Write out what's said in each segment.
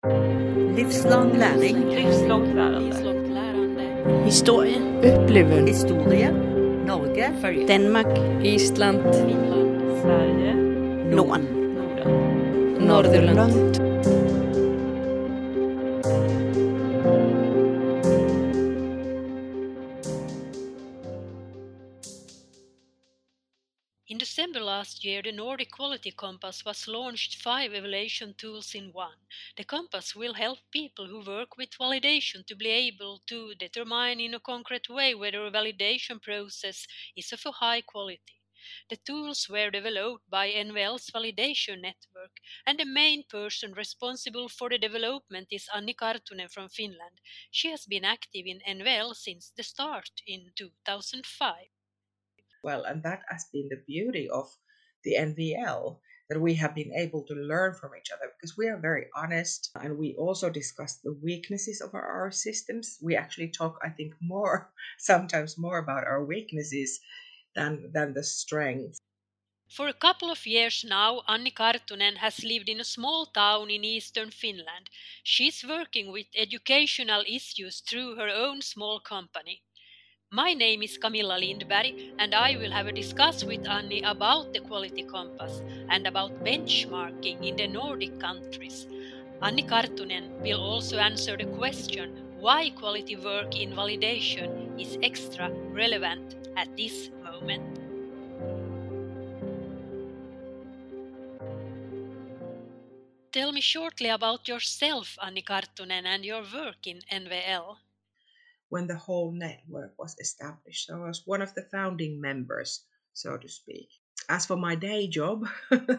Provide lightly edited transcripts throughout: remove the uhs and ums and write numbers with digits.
Livslang læring. Livslångt lärande. Livslångt lärande. Historie. Upplevelser. Historie. Norge. Danmark. Island. Finland. Sverige. Norden. Norden. Nordirland. In December last year, the Nordic Quality Compass was launched 5 evaluation tools in one. The compass will help people who work with validation to be able to determine in a concrete way whether a validation process is of a high quality. The tools were developed by NVL's validation network, and the main person responsible for the development is Anni Karttunen from Finland. She has been active in NVL since the start in 2005. Well, and that has been the beauty of the NVL, that we have been able to learn from each other because we are very honest, and we also discuss the weaknesses of our systems. We actually talk, I think, sometimes more about our weaknesses than the strengths. For a couple of years now, Anni Karttunen has lived in a small town in eastern Finland. She's working with educational issues through her own small company. My name is Camilla Lindberg, and I will have a discuss with Anni about the Quality Compass and about benchmarking in the Nordic countries. Anni Karttunen will also answer the question why quality work in validation is extra relevant at this moment. Tell me shortly about yourself, Anni Karttunen, and your work in NVL. When the whole network was established, so I was one of the founding members, so to speak. As for my day job,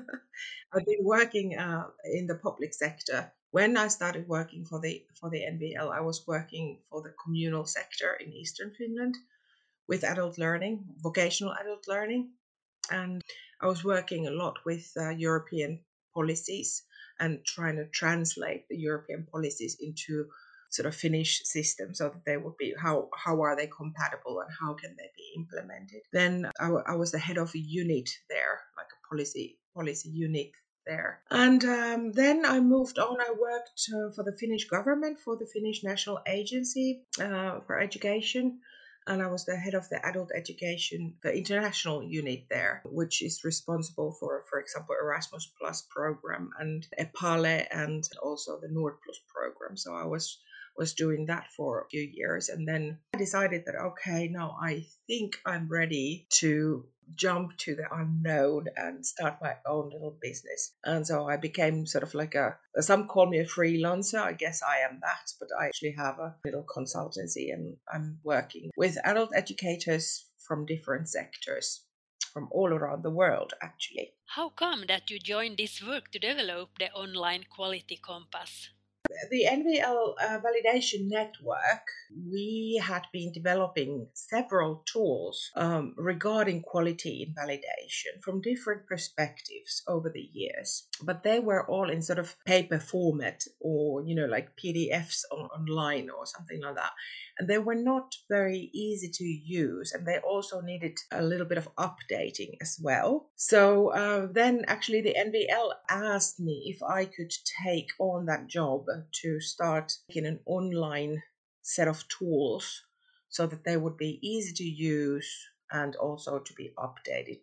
I've been working in the public sector. When I started working for the NVL, I was working for the communal sector in Eastern Finland with adult learning, vocational adult learning, and I was working a lot with European policies and trying to translate the European policies into sort of Finnish system so that they would be how are they compatible and how can they be implemented. Then I was the head of a unit there, like a policy unit there. And then I moved on. I worked for the Finnish government, for the Finnish National Agency for Education. And I was the head of the adult education, the international unit there, which is responsible for example, Erasmus Plus program and EPALE and also the Nord Plus program. So I was doing that for a few years. And then I decided that, okay, now I think I'm ready to jump to the unknown and start my own little business. And so I became sort of like some call me a freelancer. I guess I am that, but I actually have a little consultancy and I'm working with adult educators from different sectors from all around the world, actually. How come that you joined this work to develop the online Quality Compass? The NVL validation network, we had been developing several tools regarding quality in validation from different perspectives over the years. But they were all in sort of paper format or, like PDFs online or something like that. And they were not very easy to use, and they also needed a little bit of updating as well. So then actually the NVL asked me if I could take on that job to start in an online set of tools so that they would be easy to use and also to be updated.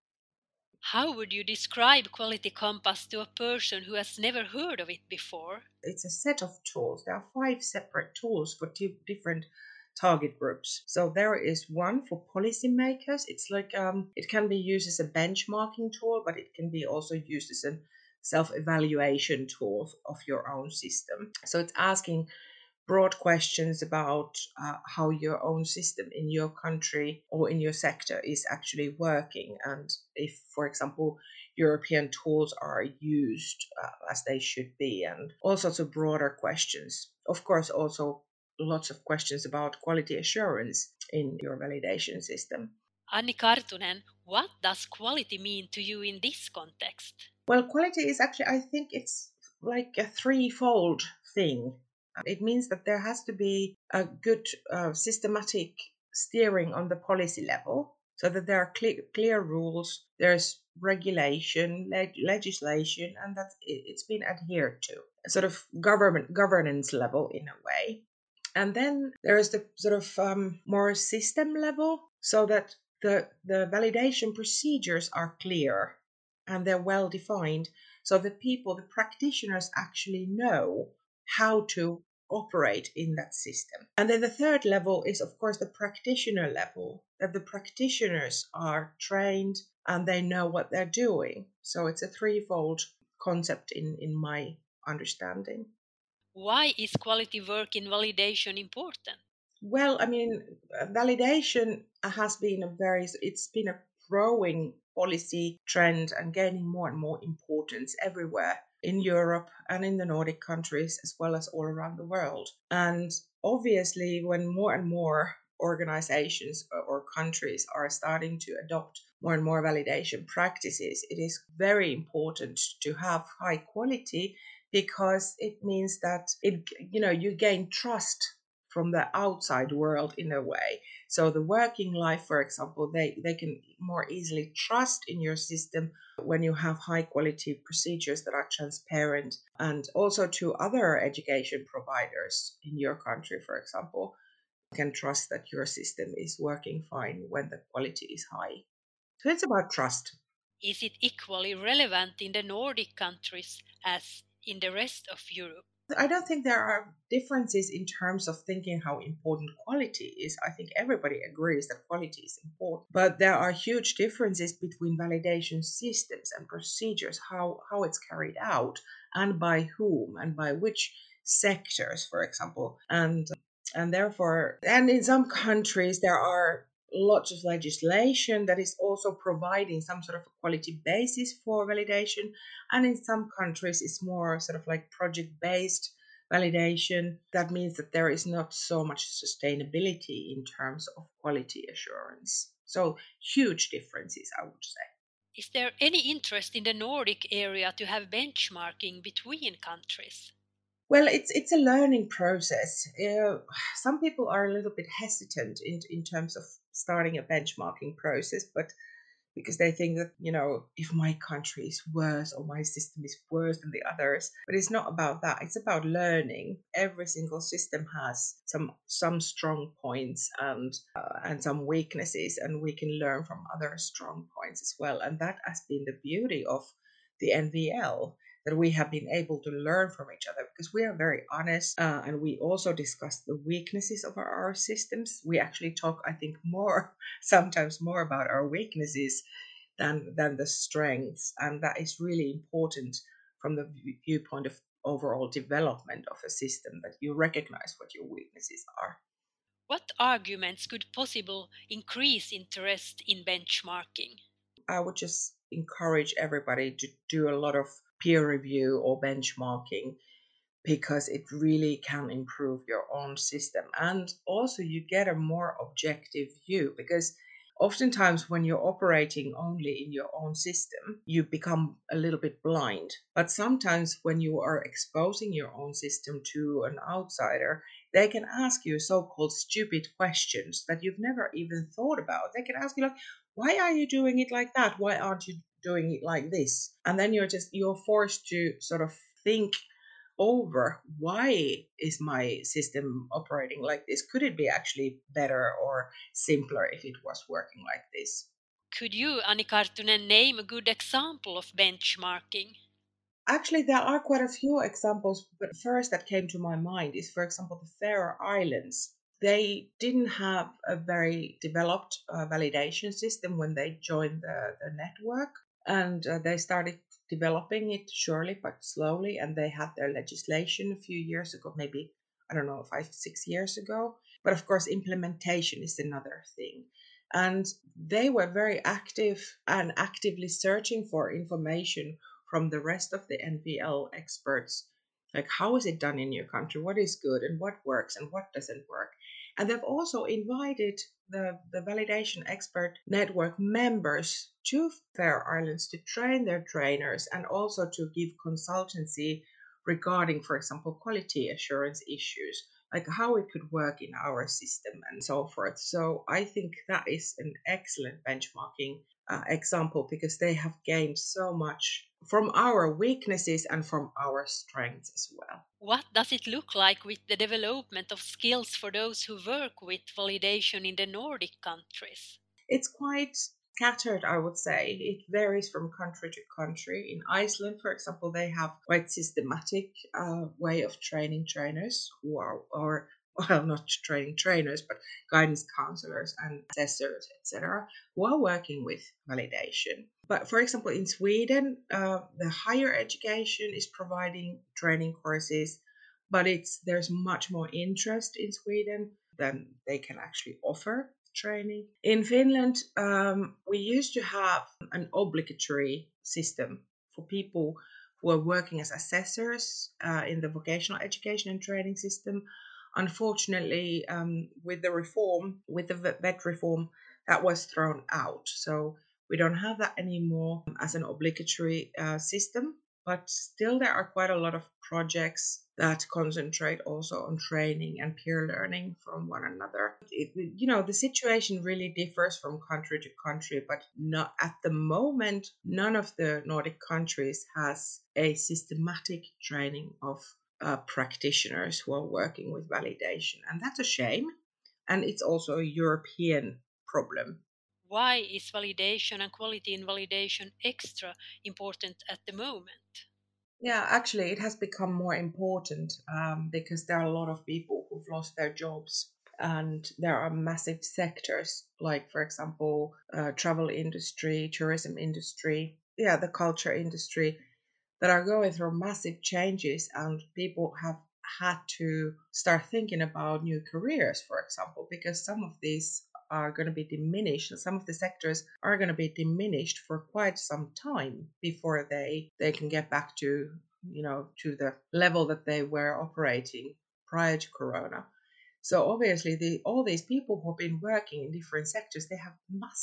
How would you describe Quality Compass to a person who has never heard of it before? It's a set of tools. There are 5 separate tools for 2 different target groups. So there is one for policymakers. It's like it can be used as a benchmarking tool, but it can be also used as a self-evaluation tool of your own system. So it's asking broad questions about how your own system in your country or in your sector is actually working, and if, for example, European tools are used as they should be, and all sorts of broader questions. Of course, also lots of questions about quality assurance in your validation system. Anni Karttunen, what does quality mean to you in this context? Well, quality is actually, I think it's like a threefold thing. It means that there has to be a good systematic steering on the policy level so that there are clear rules, there's regulation, legislation, and that it's been adhered to, sort of governance level in a way. And then there is the sort of more system level, so that the validation procedures are clear and they're well defined, so that the practitioners actually know how to operate in that system. And then the third level is, of course, the practitioner level, that the practitioners are trained and they know what they're doing. So it's a threefold concept in my understanding. Why is quality work in validation important? Well, I mean, validation has been it's been a growing policy trend and gaining more and more importance everywhere in Europe and in the Nordic countries, as well as all around the world. And obviously, when more and more organizations or countries are starting to adopt more and more validation practices, it is very important to have high quality, because it means that you gain trust from the outside world in a way. So the working life, for example, they can more easily trust in your system when you have high quality procedures that are transparent. And also to other education providers in your country, for example, can trust that your system is working fine when the quality is high. So it's about trust. Is it equally relevant in the Nordic countries as in the rest of Europe? I don't think there are differences in terms of thinking how important quality is. I think everybody agrees that quality is important, but there are huge differences between validation systems and procedures, how it's carried out, and by whom, and by which sectors, for example. And therefore, and in some countries there are lots of legislation that is also providing some sort of a quality basis for validation. And in some countries, it's more sort of like project-based validation. That means that there is not so much sustainability in terms of quality assurance. So huge differences, I would say. Is there any interest in the Nordic area to have benchmarking between countries? Well, it's a learning process. Some people are a little bit hesitant in terms of starting a benchmarking process, but because they think that, if my country is worse or my system is worse than the others. But it's not about that. It's about learning. Every single system has some strong points and some weaknesses, and we can learn from other strong points as well. And that has been the beauty of the NVL, that we have been able to learn from each other, because we are very honest, and we also discuss the weaknesses of our systems. We actually talk, I think, sometimes more about our weaknesses than the strengths, and that is really important from the viewpoint of overall development of a system, that you recognize what your weaknesses are. What arguments could possibly increase interest in benchmarking? I would just encourage everybody to do a lot of peer review or benchmarking, because it really can improve your own system. And also you get a more objective view, because oftentimes when you're operating only in your own system, you become a little bit blind. But sometimes when you are exposing your own system to an outsider, they can ask you so-called stupid questions that you've never even thought about. They can ask you like, why are you doing it like that? Why aren't you doing it like this? And then you're forced to sort of think over, why is my system operating like this? Could it be actually better or simpler if it was working like this? Could you, Anni Karttunen, name a good example of benchmarking? Actually, there are quite a few examples, but first that came to my mind is, for example, the Faroe Islands. They didn't have a very developed validation system when they joined the network, and they started developing it surely but slowly, and they had their legislation a few years ago, maybe, I don't know, 5-6 years ago. But of course, implementation is another thing. And they were very active and actively searching for information from the rest of the NVL experts, like how is it done in your country, what is good and what works and what doesn't work. And they've also invited the validation expert network members to Faroe Islands to train their trainers, and also to give consultancy regarding, for example, quality assurance issues, like how it could work in our system and so forth. So I think that is an excellent benchmarking example, because they have gained so much from our weaknesses and from our strengths as well. What does it look like with the development of skills for those who work with validation in the Nordic countries? It's quite scattered, I would say. It varies from country to country. In Iceland, for example, they have quite systematic way of training trainers who are, well, not training trainers, but guidance counselors and assessors, etc., who are working with validation. But for example, in Sweden, the higher education is providing training courses, but there's much more interest in Sweden than they can actually offer training. In Finland, we used to have an obligatory system for people who are working as assessors in the vocational education and training system. Unfortunately, with the VET reform, that was thrown out. So we don't have that anymore as an obligatory system. But still, there are quite a lot of projects that concentrate also on training and peer learning from one another. The situation really differs from country to country, but not at the moment. None of the Nordic countries has a systematic training of practitioners who are working with validation, and that's a shame. And it's also a European problem. Why is validation and quality in validation extra important at the moment? Yeah, actually, it has become more important because there are a lot of people who've lost their jobs, and there are massive sectors like, for example, travel industry, tourism industry, the culture industry, that are going through massive changes, and people have had to start thinking about new careers, for example, because some of these are going to be diminished, and some of the sectors are going to be diminished for quite some time before they can get back to the level that they were operating prior to Corona. So obviously, all these people who have been working in different sectors, they have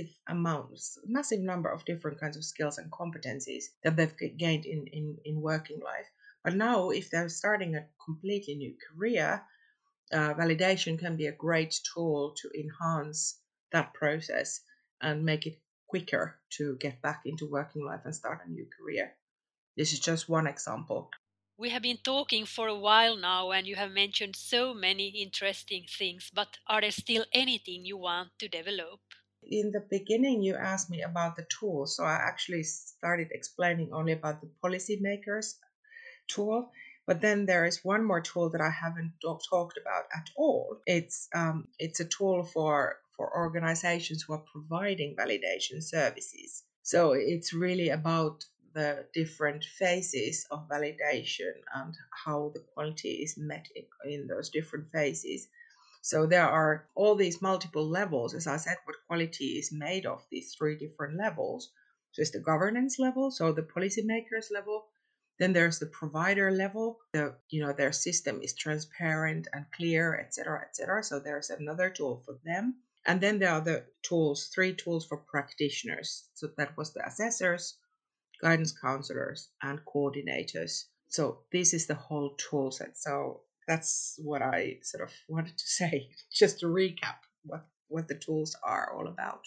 massive number of different kinds of skills and competencies that they've gained in working life. But now, if they're starting a completely new career, validation can be a great tool to enhance that process and make it quicker to get back into working life and start a new career. This is just one example. We have been talking for a while now, and you have mentioned so many interesting things, but are there still anything you want to develop? In the beginning, you asked me about the tools, so I actually started explaining only about the policymakers tool. But then there is one more tool that I haven't talked about at all. It's a tool for organizations who are providing validation services. So it's really about the different phases of validation and how the quality is met in those different phases. So there are all these multiple levels. As I said, what quality is made of, these 3 different levels. So it's the governance level, so the policymakers level. Then there's the provider level. Their system is transparent and clear, etc., etc. So there's another tool for them. And then there are the 3 tools for practitioners. So that was the assessors, guidance counselors, and coordinators. So this is the whole tool set. So that's what I sort of wanted to say, just to recap what the tools are all about.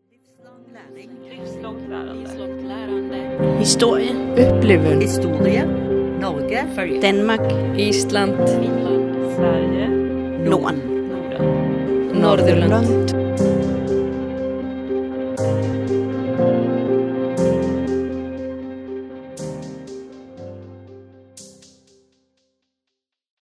Livslångt lärande. Livslångt lärande. Historie. Upplevelse. Historie. Norge. Følge. Danmark. Island. Finland. Sverige. Norden. Norden. Nordirland.